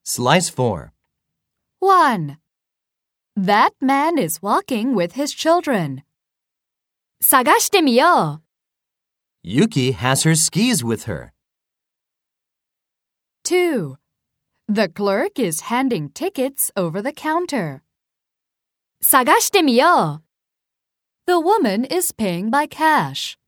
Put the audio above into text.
Slice 4. 1. That man is walking with his children. 探してみよう。 Yuki has her skis with her. 2. The clerk is handing tickets over the counter. 探してみよう。The woman is paying by cash.